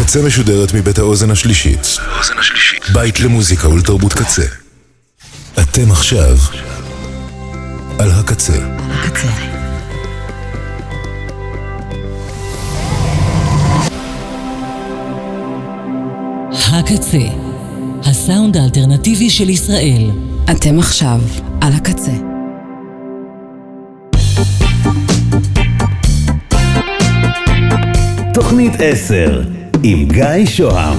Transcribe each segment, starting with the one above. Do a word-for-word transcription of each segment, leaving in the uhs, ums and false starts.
הקצה משודרת מבית האוזן השלישית. בית למוזיקה ולתרבות קצה. אתם עכשיו על הקצה. הקצה. הקצה, הסאונד האלטרנטיבי של ישראל. אתם עכשיו על הקצה. תוכנית עשר עם גיא שוהם.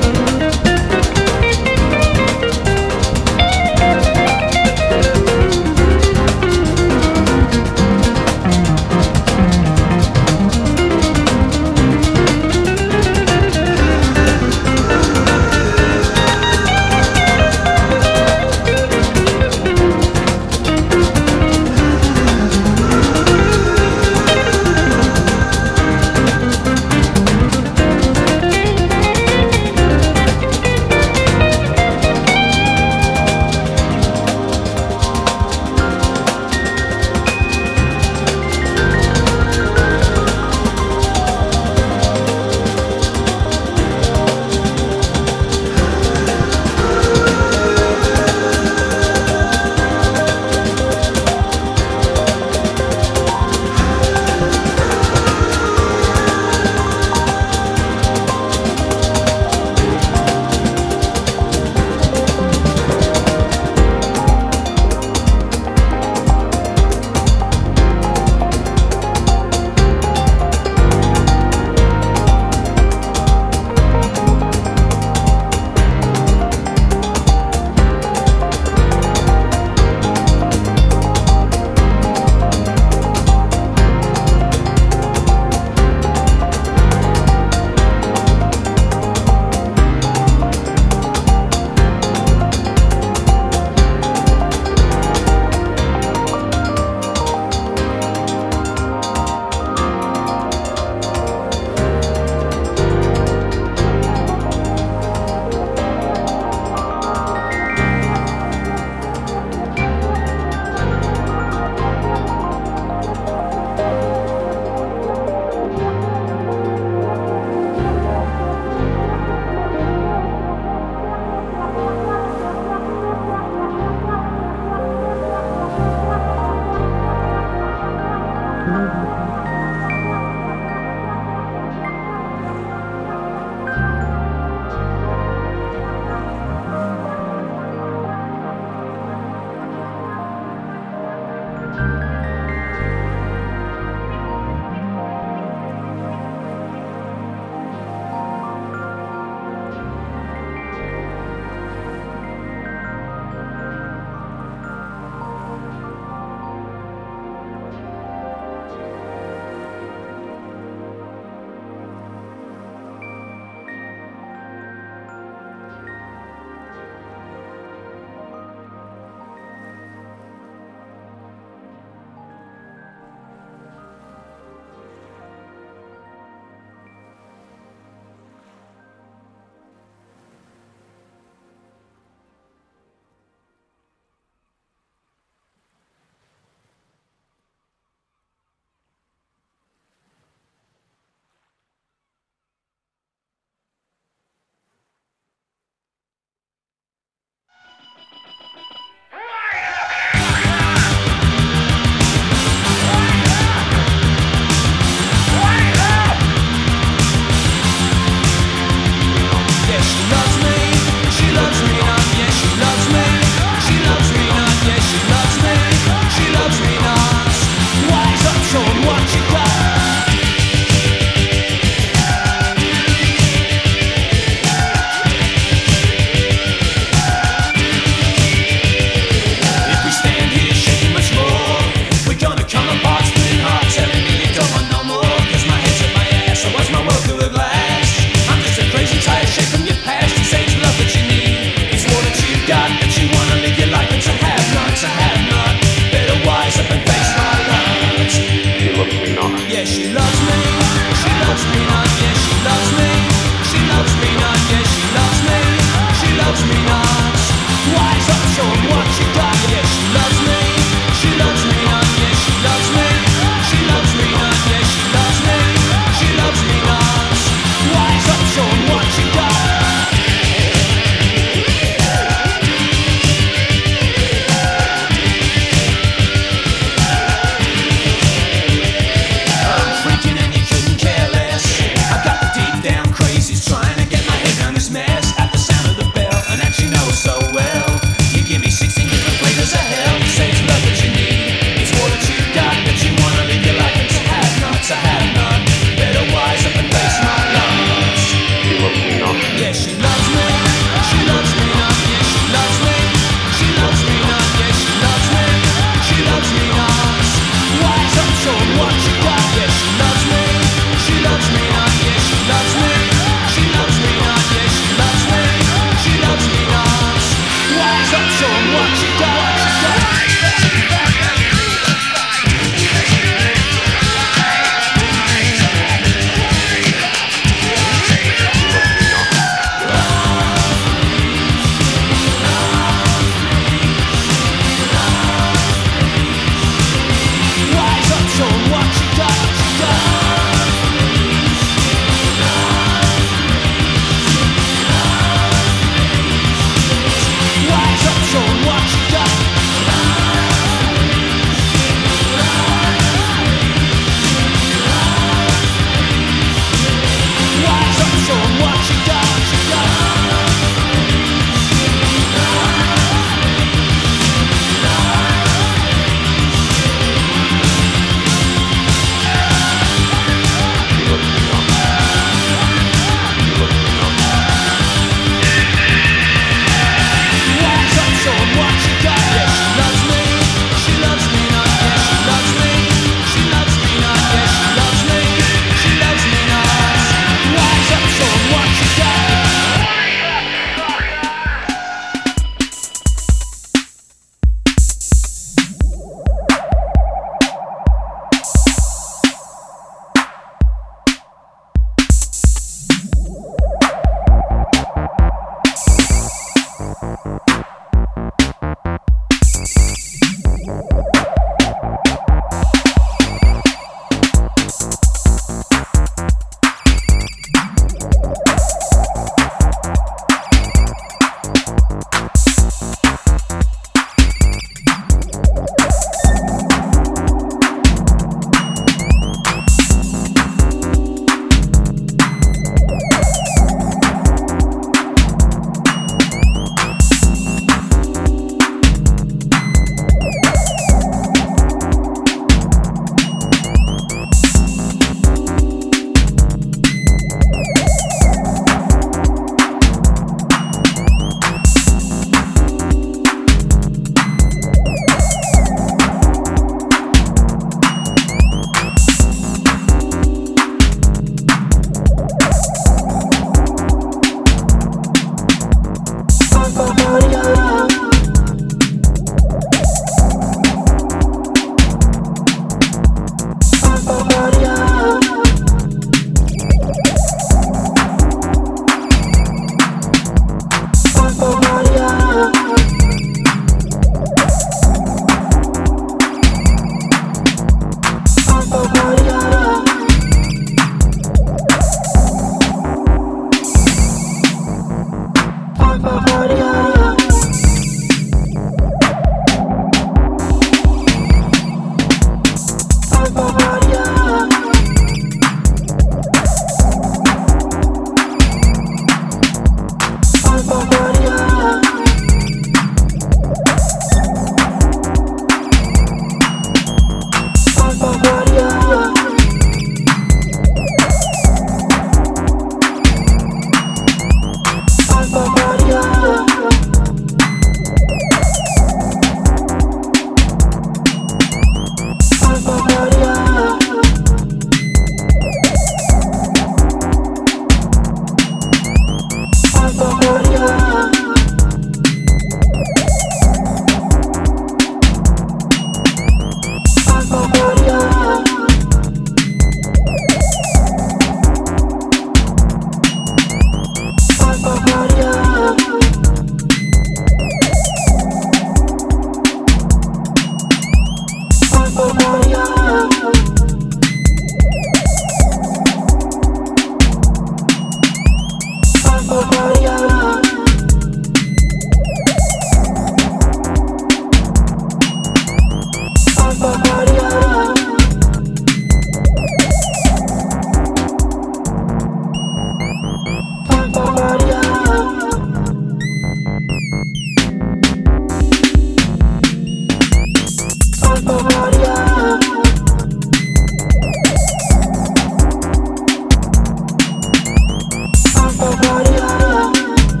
Maria,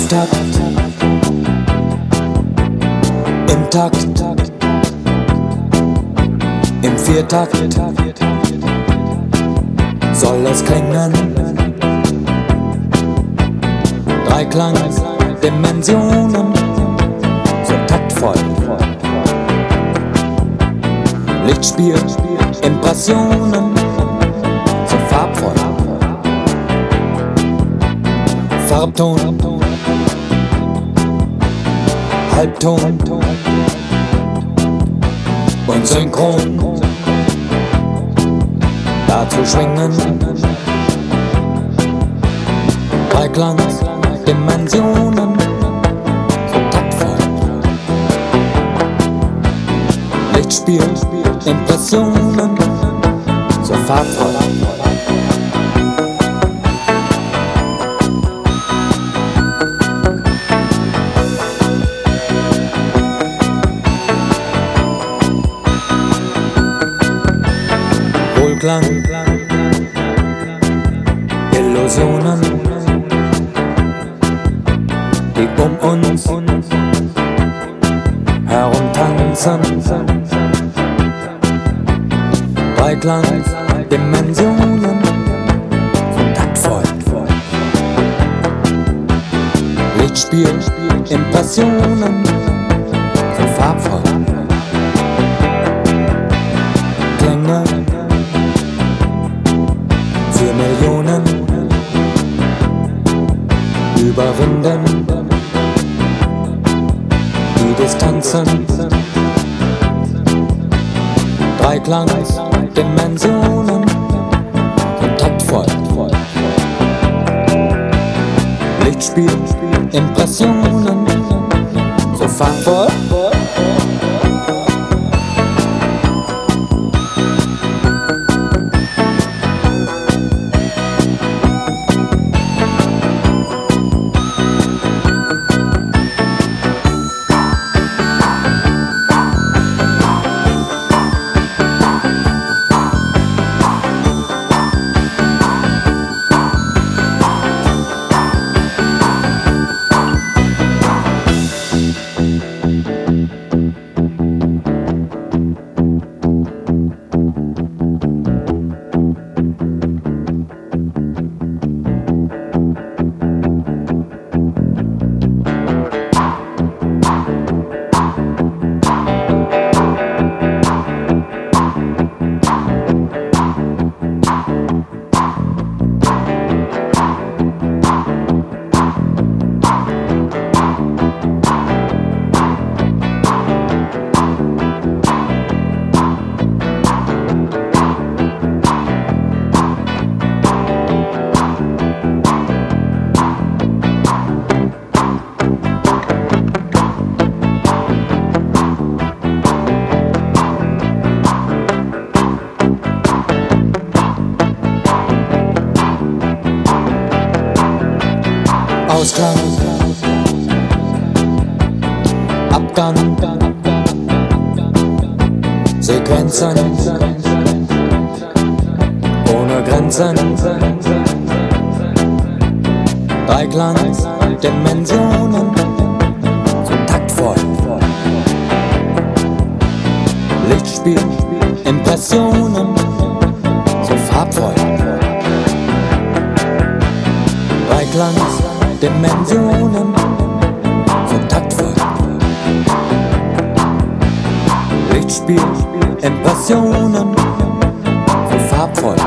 Auftakt, im Takt, im Viertakt soll es klingen. Dreiklang-Dimensionen, so taktvoll. Lichtspiel, Impressionen, so farbvoll. Farbton, Halbton und Synchron. Dazu schwingen Dreiklang-Dimensionen, so taktvoll. Lichtspiel, Impressionen, so farbvoll. Wohlklang, Illusionen, die um uns herumtanzen. Dreiklang-Dimensionen, so taktvoll. Lichtspiel, Impressionen, so farbvoll. Klänge, vier Millionen, überwinden die Distanzen. Dreiklang-Dimensionen, so taktvoll. Lichtspiel, Impressionen, so farbvoll. Ausgang, Abgang, Sequenzen, ohne Grenzen. Dreiklang-Dimensionen, so taktvoll. Lichtspiel, Impressionen, so farbvoll. Dreiklang-Dimensionen, so taktvoll. Lichtspiel, Impressionen, so farbvoll.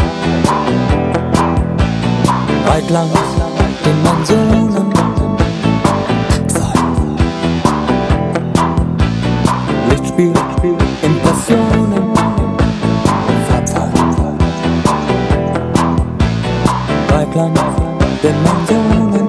Dreiklang-Dimensionen, taktvoll. Lichtspiel, Impressionen, farbvoll. Dreiklang-Dimensionen.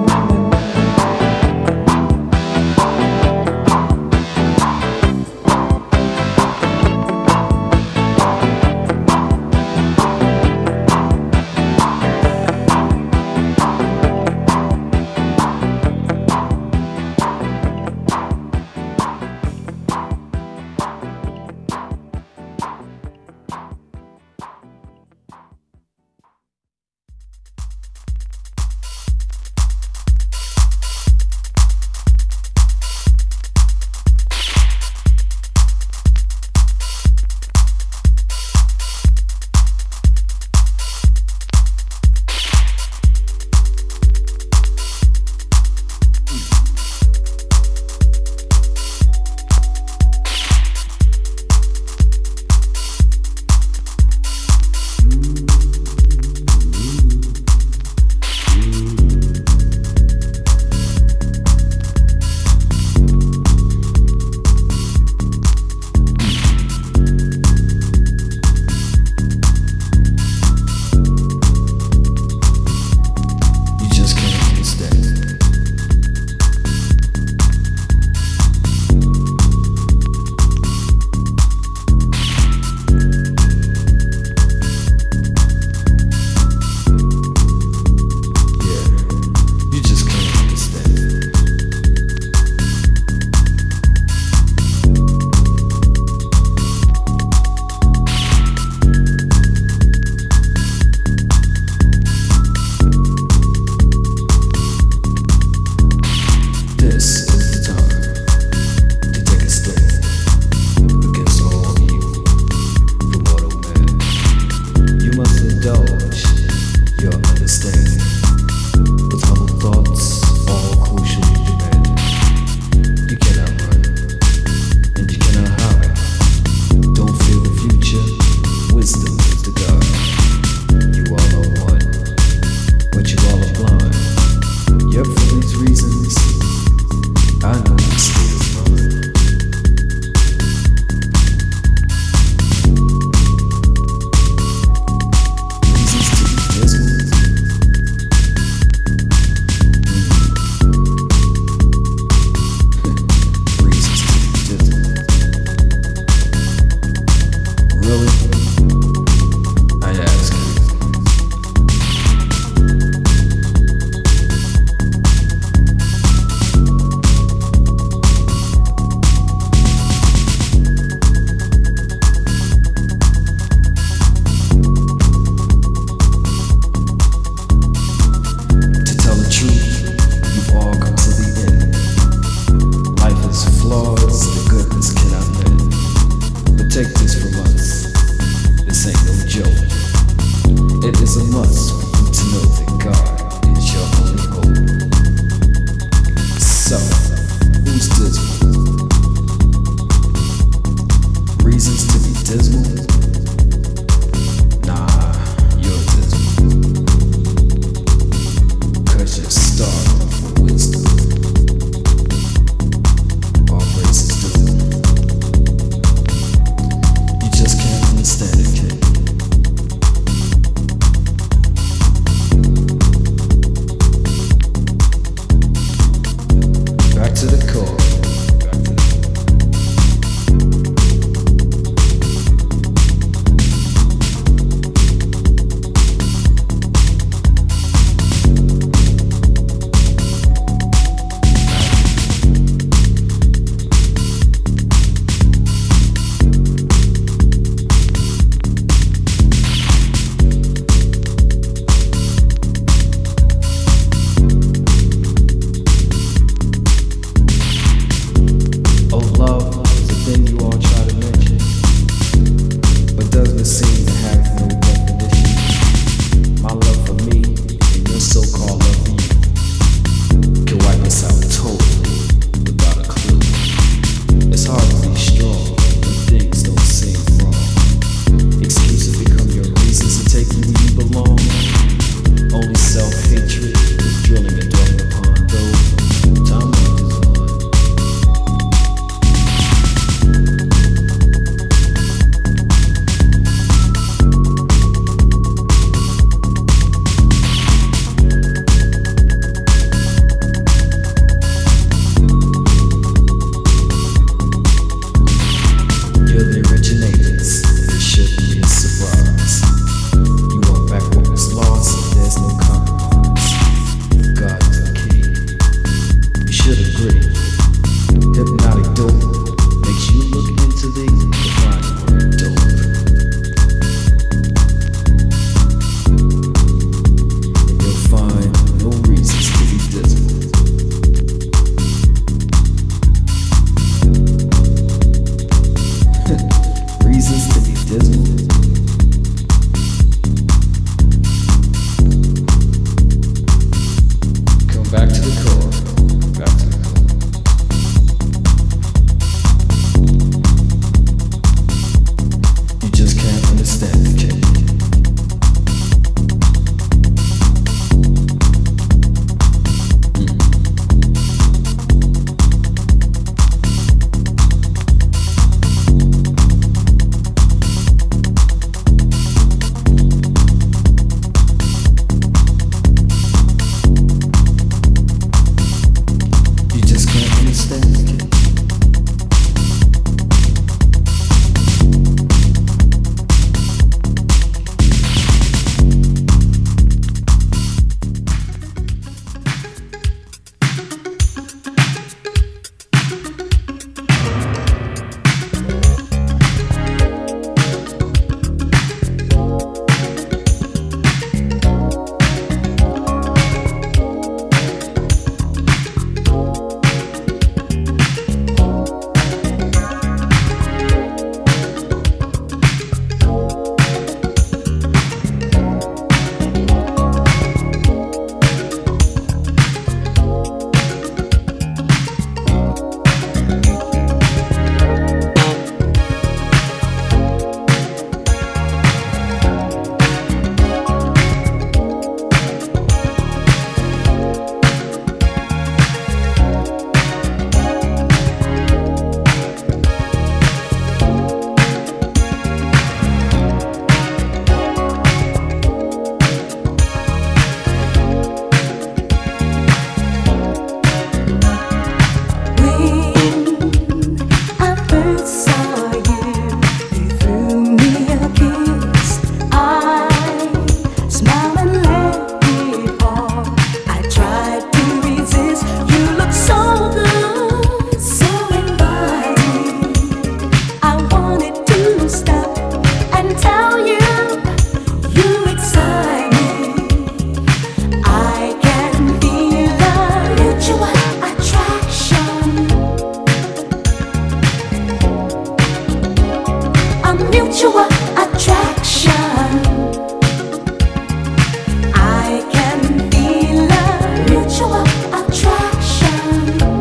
dismal? Nah, you're dismal. Cause you're starving for wisdom. All races do. You just can't understand it, kid. Back to the core.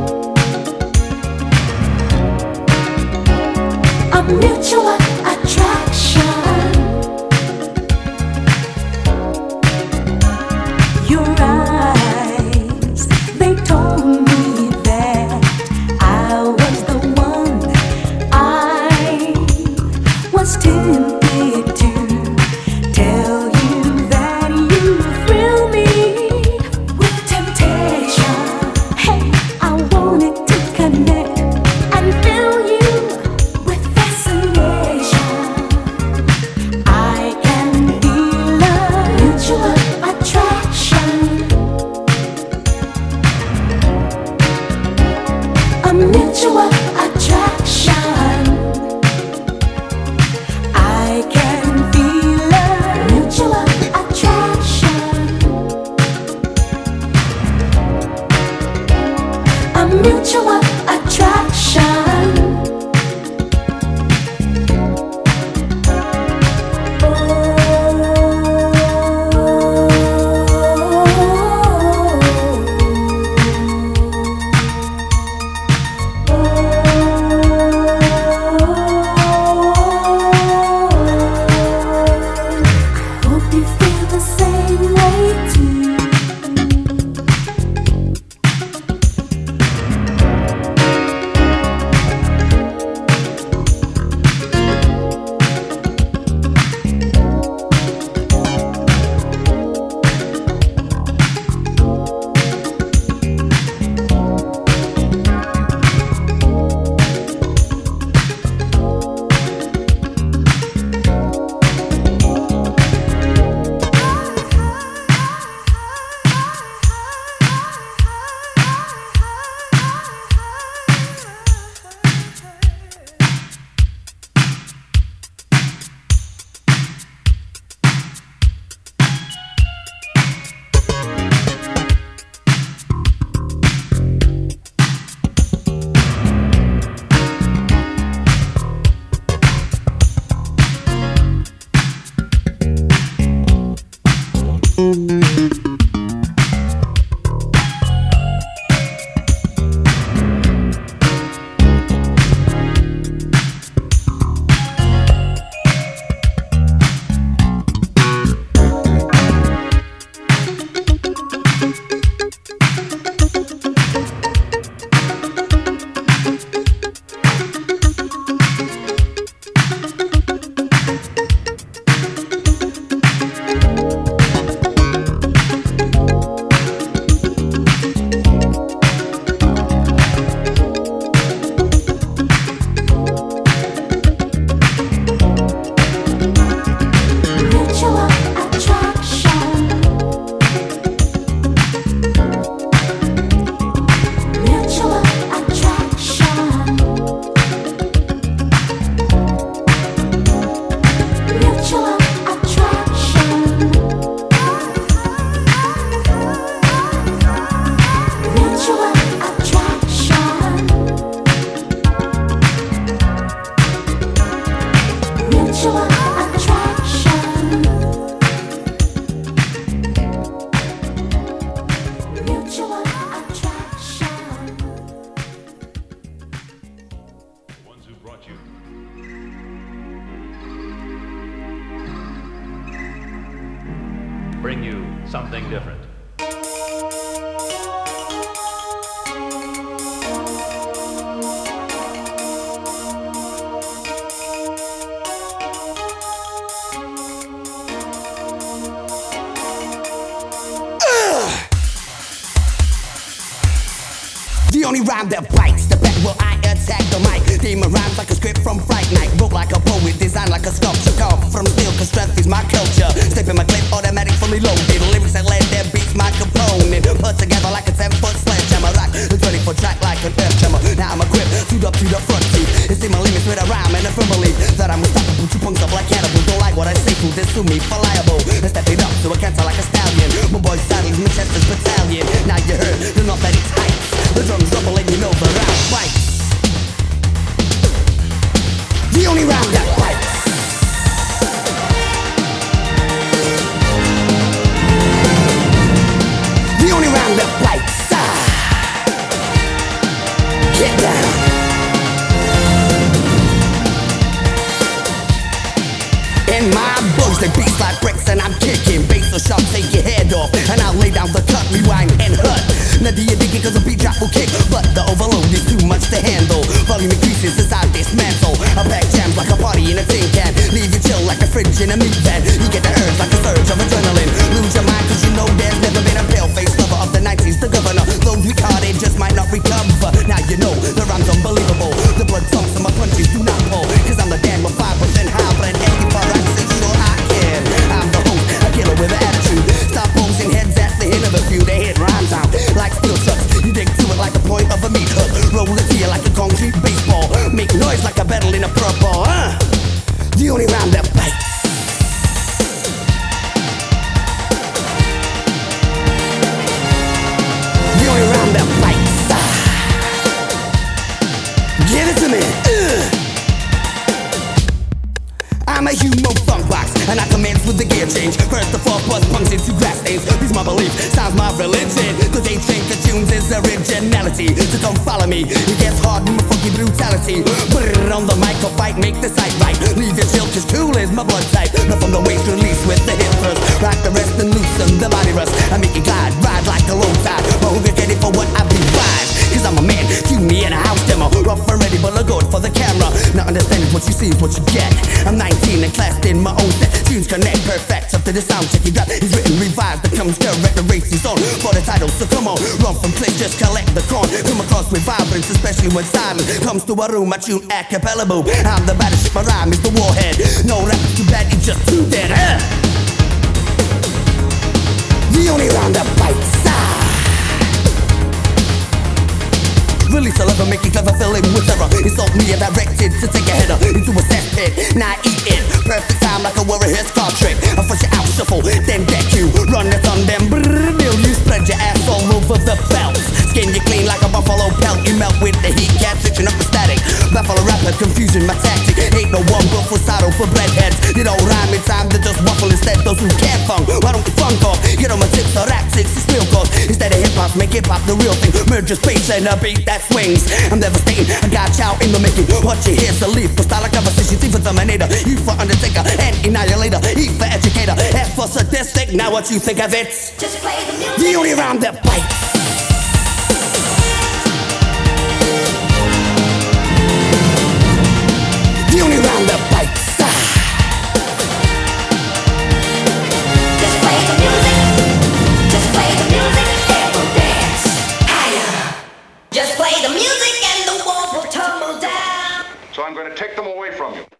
mutual attraction. Mutual attraction. Mutual attraction. The ones who brought you. Bring you something different. The only rhyme that bites, the back will I attack the mic. Demon rhymes like a script from Fright Night. Wrote like a poet, designed like a sculpture. Carved from steel, cause strength is my culture. Step in my clip, automatic, fully loaded. Lyrics that let their beats my component. Put together like a ten foot sledgehammer. Rock the twenty foot track like an earth jammer. Now I'm equipped, suit up to the front seat. It's in my limits with a rhyme and a firm belief that I'm unstoppable. Two punks up like cannibals. Don't like what I say, fool, this to me for liable. I step it up so I can't sound like a stallion. My boy Saddles, Manchester's battalion. Now you heard, the north that it's tight. The drums rumble and you know the rhyme bites. The only rhyme that bites. The only rhyme that bites. Ah. Get down. In my books, they beats like bricks and I'm kicking. Bass so sharp, take your head off. And I'll lay down the cut, rewind and hut. Now do you dig it cause the beat drop will kick, but the overload is too much to handle. Volume increases as I dismantle. I pack jams like a party in a tin can. Leave you chill like a fridge in a meat van. You get the urge like a surge of adrenaline. Lose your mind cause you know there's never been a pale-faced lover of the nineties. The governor, those retarded just might not recover. Now you know the rhyme's unbelievable. The blood pumps and my punches do not pull. Cause I'm the damn with five percent hybrid. eighty-four I say sure I can. I'm the host, a killer with an attitude. Stop posing heads at the hit of a few. They hit rhymes out like steel trucks. You dig to it like the point of a meat hook. Roll it here like a concrete baseball. Make noise like a battle in a purple. Uh, the only rhyme that bites. The only rhyme that bites. Ah. Give it to me. Uh. I'm a human funk box, and I commence with the gear change. First the fourth bus punks into grass stains. These my belief, sounds my religion. Cause they think the tunes is originality. So come follow me, it gets hard with my funky brutality. Put it on the mic, I'll fight, make the sight right. Leave your chill, cause cool is my blood type. Now from the waist release with the hip first. Rock the rest and loosen the body rust. I make it glide, ride like a low tide. But who get ready for what I provide? Cause I'm a man, cue me in a house demo. Rough and ready, but look good for the camera. Now understanding what you see is what you get. I'm nineteen and classed in my own set. Tunes connect perfect up to the sound check. You got is written, revised, that comes correct. The race is on for the title, so come on. Run from cliff, just collect the corn. Come across with vibrance, especially when silence comes to a room. I tune a cappella boom. I'm the baddest shit, my rhyme is the warhead. No rap is too bad, it's just too dead. Uh. The only rhyme that bites. Ah. Release a lever, make it clever, fill in with terror. Insult me and directed to take a header into a cesspit. Now eat it, perfect time like a warrior scar trick. I flush it out, shuffle, then deck you. Run it on them, brrrr, bill you. Spread your ass all over the belt. Skin you clean like a buffalo pelt. You melt with the heat, cat switching up the static. Buffalo rapper, confusion, my tactic. Ain't no one but for saddle for breadheads. It don't rhyme in time to just waffle instead. Those who can't funk, why don't you funk off? Get on my tips or rap six, it's real cause. Instead of hip hop, make hip hop the real thing. Merge your space and a beat that swings. I'm devastating, I got chow in the making. What you hear's a leaf for style of conversation. T for Terminator, E for Undertaker, and Annihilator. E for Educator, F for Sadistic. Now what you think of it? Just play the music. The only rhyme that bites. The only rhyme that bites. Ah. Just play the music. Just play the music and we'll dance higher. Just play the music and the walls will tumble down. So I'm going to take them away from you.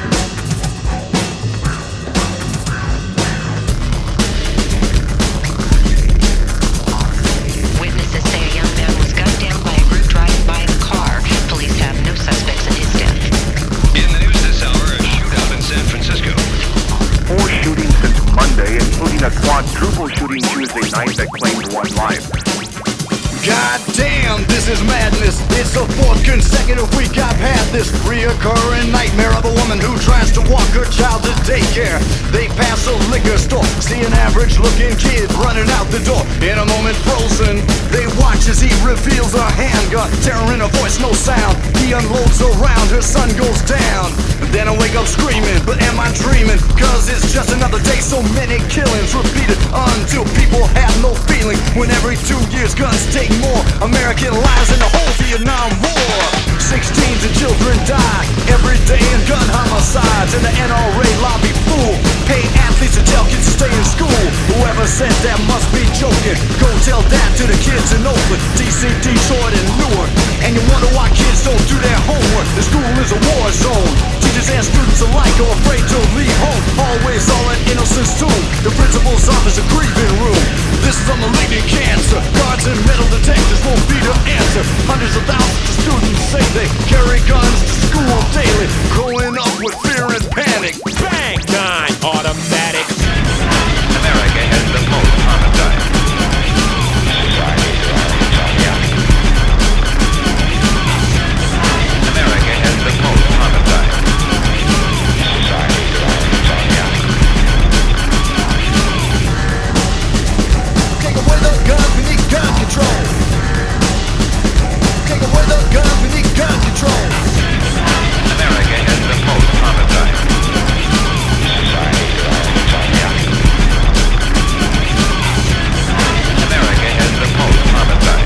Witnesses say a young man was gunned down by a group driving by in a car. Police have no suspects in his death. In the news this hour, a shootout in San Francisco. Four shootings since Monday, including a quadruple shooting Tuesday night that claimed one life. God damn, this is madness. It's the fourth consecutive week I've had this reoccurring nightmare of a woman who tries to walk her child to daycare. They pass a liquor store, see an average looking kid running out the door. In a moment frozen, they watch as he reveals a handgun. Terror in her voice, no sound. He unloads around, her son goes down. Then I wake up screaming, but am I dreaming? Cause it's just another day, so many killings repeated until people have no feeling. When every two years guns take more American lives in the whole Vietnam War. Sixteen to children die every day in gun homicides. And the N R A lobby fool pay athletes to tell kids to stay in school. Whoever said that must be joking. Go tell that to the kids in Oakland, D C, Detroit, and Newark. And you wonder why kids don't do their homework. The school is a war zone. Teachers and students alike are afraid to leave home. Always all in innocence too. The principal's office a grieving room. This is a malignant cancer. Guards and metal detectors won't be the answer. Hundreds of thousands of students say they carry guns to school daily, growing up with fear and panic. Bang! Nine automatic. America has the most homicide. America has the most homicide. Take away the guns, we need gun control. Take away the guns, we need gun control. America has the most homicide. America has the most homicide.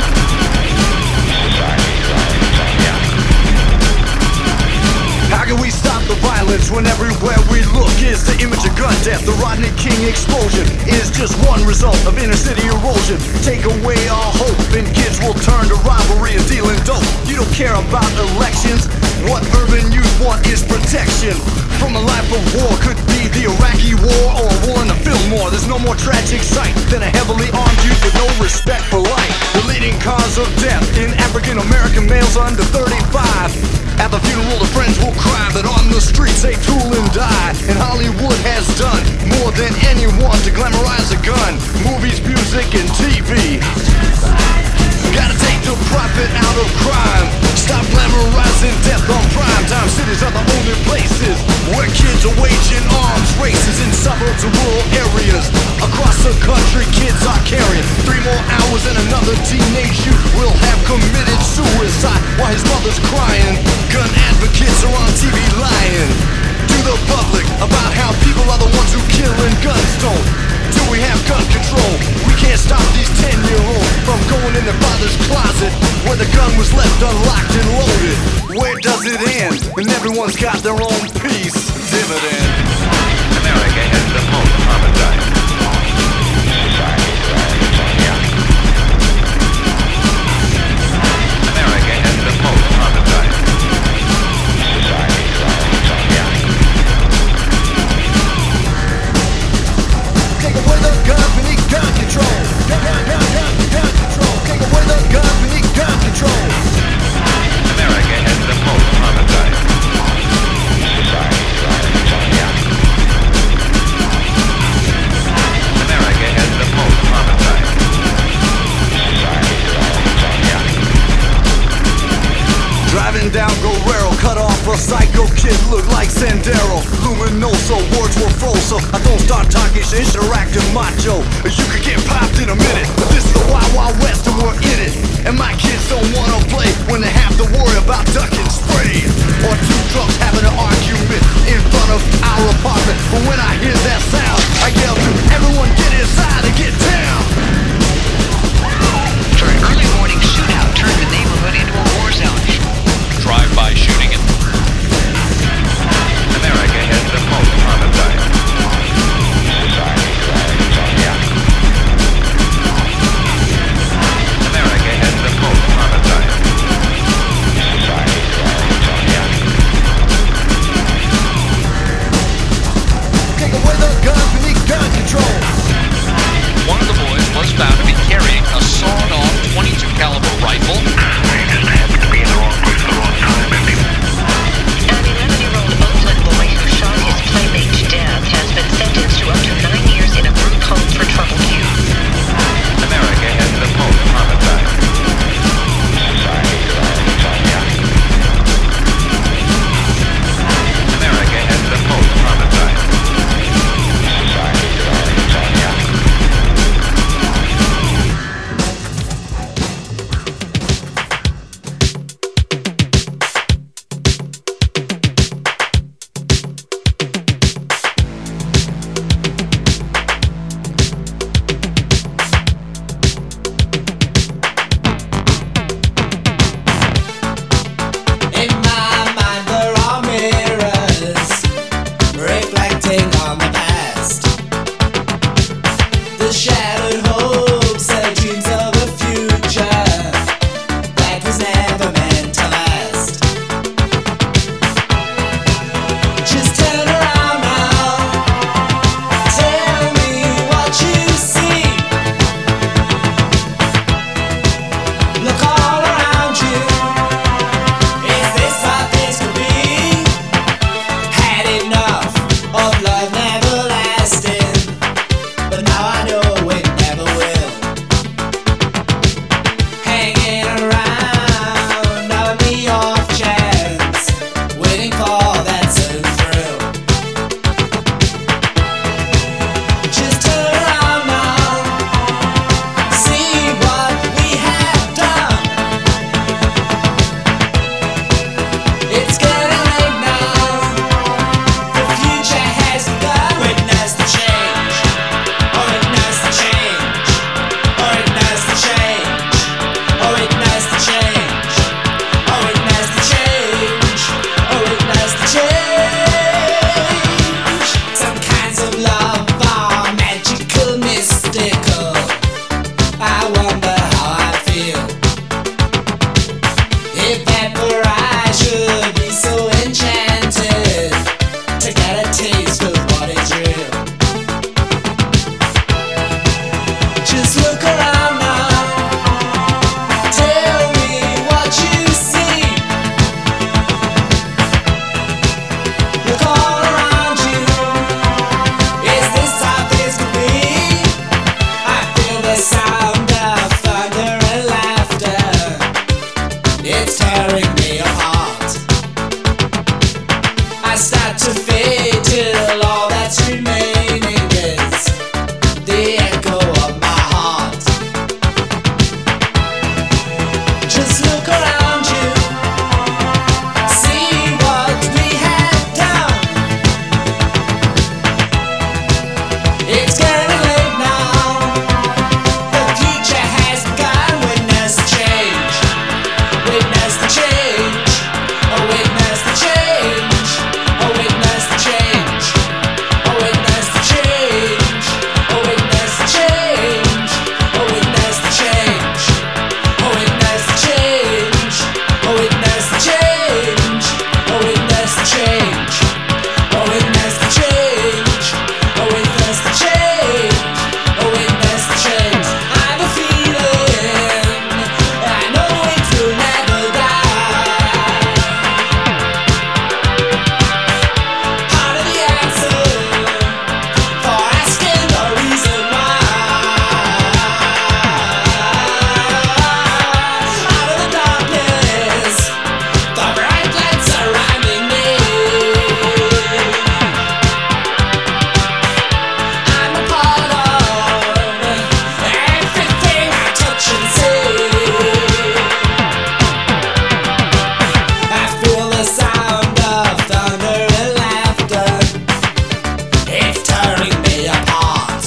How can we stop the violence when everywhere we look is the image of gun death? The Rodney King explosion is just one result of inner city erosion. Take away our hope and kids will turn to rivalry and dealing dope. You don't care about elections. What urban youth want is protection from a life of war. Could be the Iraqi war or a war in the Fillmore. There's no more tragic sight than a heavily armed youth with no respect for life. The leading cause of death in African American males under thirty-five. At the funeral the friends will cry, but on the streets they tool and die. And Hollywood has done more than anyone to glamorize a gun. Movies, music, and T V. Gotta take the profit out of crime. Stop glamorizing death on prime time. Cities are the only places where kids are waging arms races. In suburbs and rural areas across the country, kids are carrying three more hours and another teenage youth will have committed suicide while his mother's crying. Gun advocates are on T V lying to the public about how people are the ones who kill and guns don't. Do we have gun control? We can't stop these ten-year-olds from going in their father's closet where the gun was left unlocked and loaded. Where does it end? And everyone's got their own piece. Dividend. America has the most homicide. America has the most homicide. Take away the guns, we need gun control. Gun, gun, gun, gun, gun control. Take away the guns, we need gun control. America has the most homicide. America has the most homicide. Driving down Guerrero, cut off a psycho kid, look like Sendero. Luminoso, words were froze, so I don't start talking shit, interacting macho. You could get popped in a minute, but this is the Wild Wild West and we're in it. And my kids don't wanna play when they have to worry about ducking spray. Or two trucks having an argument in front of our apartment. But when I hear that sound, I yell to everyone get inside and get down. For an early morning shootout turned the neighborhood into a war zone. Drive-by shooting it. America has the most homicide. America has the most homicide. taste of what is real. Just look around now. Tell me what you see. Look all around you. Is this how things could be? I feel the sound of thunder and laughter. It's tearing me apart. I start to fade till all that's remaining is the echo of my heart. Just look around you, see what we have done. It's getting late now. The future has begun. Witness the change. Witness the change. Oh, witness the change. Oh, witness the change. Oh, witness the change. Oh, witness the change. Oh, witness the change. Oh, witness the change. Oh, witness the change. Oh, witness the change. Oh, witness the change. Oh, witness the change. Oh, witness the change. I have a feeling. I know it will never die. Part of the answer for asking the reason why. Out of the darkness, the bright lights surrounding me. I'm a part of everything I touch and see. I feel the sound of thunder and laughter. It's tearing me apart.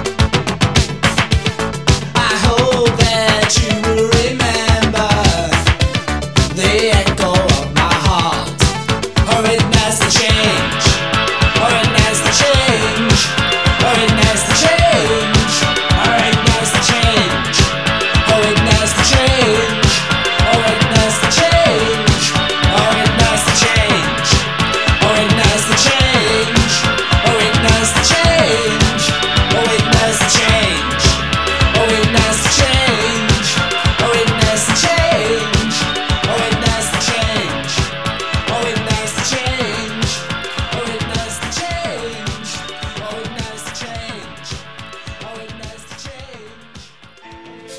I hope that you will remember the echo of my heart. Oh, witness the change. Oh, witness the change. Oh, witness the change. Oh, witness the change. Oh, witness the change. Oh, witness the change. Oh, witness the change. Oh, witness the change. Oh, witness the change. Oh, witness the change. Oh, witness the change. Oh, witness the change. Oh, witness the change. Oh, witness the change. Oh, witness the change. Oh, witness the change. Oh, witness the change.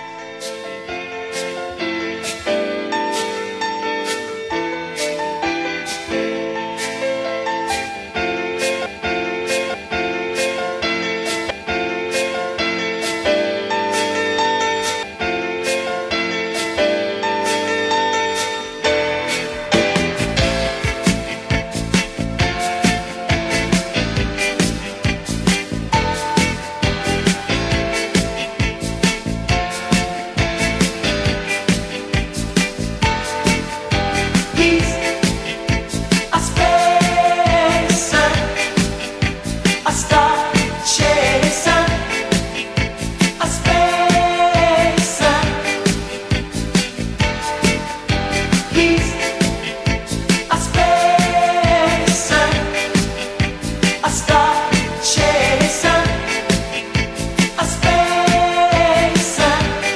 He's a spacer, a star chaser, a spacer. He's a spacer, a star chaser, a spacer.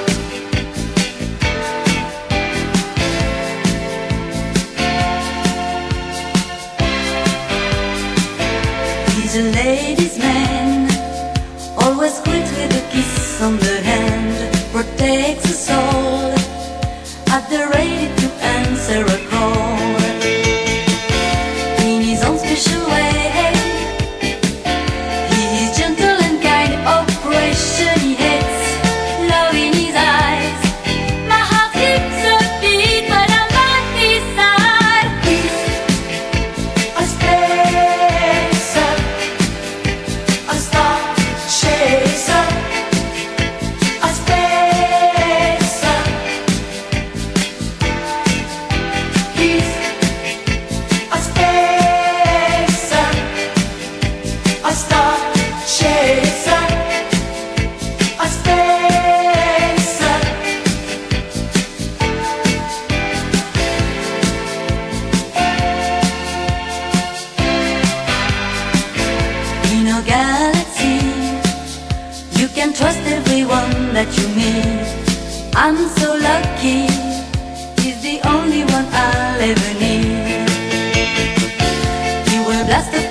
He's a ladies' man, always greets with a kiss on the hand, protects the soul, at the ready to answer a call. In his own special way, he is gentle and kind, operation he hates, love in his eyes. My heart skips a beat when I'm by his side. He's A spacer, a star chaser, a spacer. He's that you meet. I'm so lucky, he's the only one I'll ever need. He will blast the